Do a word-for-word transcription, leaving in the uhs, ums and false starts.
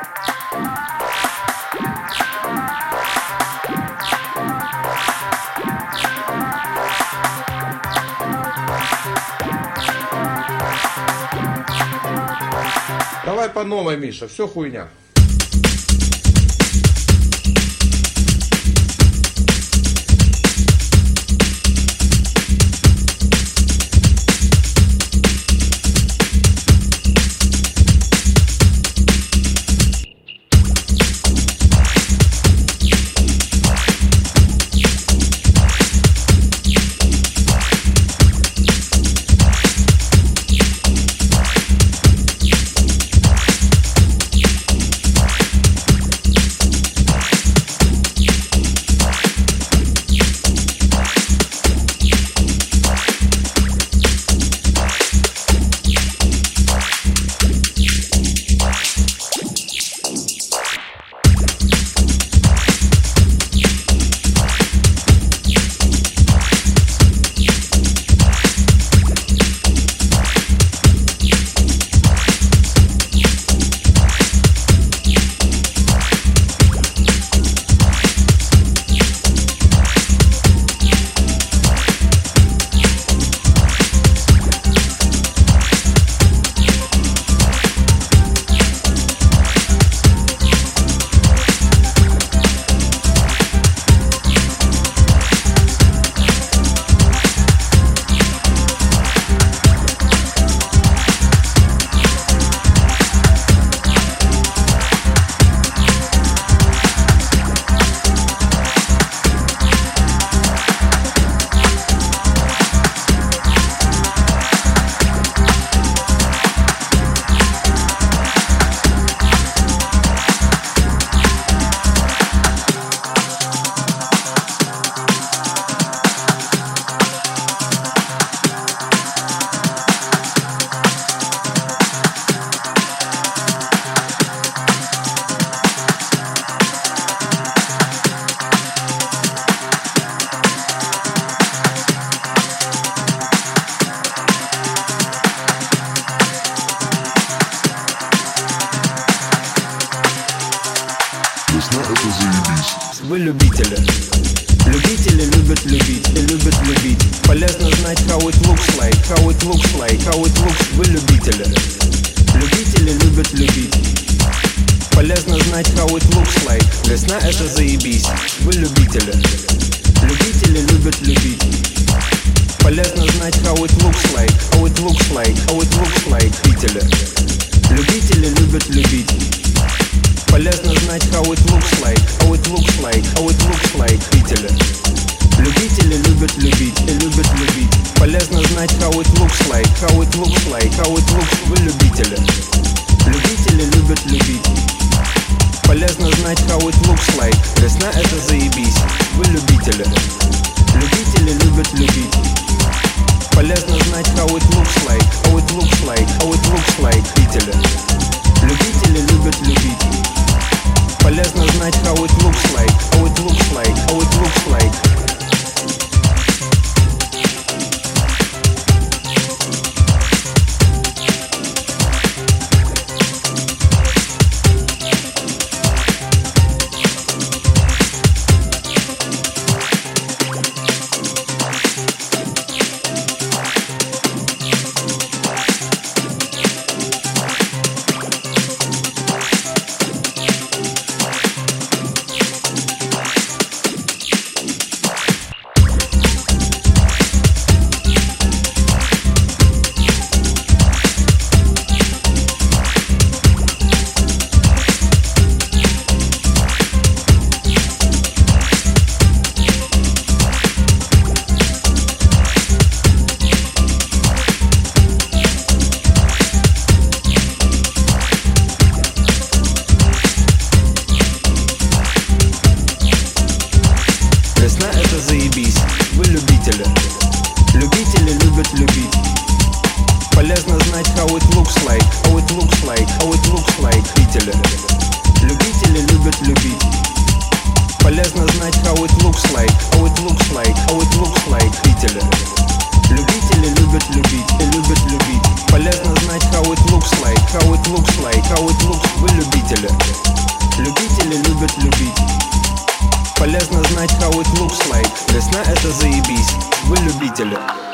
Давай по новой, Миша, все хуйня. Вы любители. Любители любят любить и любят любить. Полезно знать how it looks like, how it looks like, how it looks. Вы любители. Любители любят любить. Полезно знать how it looks like. Весна это заебись. Вы любители. Любители любят любить. Полезно знать how it looks like, how it looks like, how it looks like. Любители. Любители любят любить. Полезно знать how it looks like, how it looks like, how it looks like. Любители. Любители любят любить и любят любить. Полезно знать how it looks like, how it looks like, how it looks. Вы любители. Любители любят любить. Полезно знать how it looks like. Весна это заебись. Вы любители. Любители любят любить. Полезно знать how it looks like, how it looks like, how it looks like. Любители. Любители любят любить. Полезно знать how it looks like, how it looks like, how it looks like. Любители любят любить. Полезно знать, how it looks like. Весна — это заебись. Вы любители.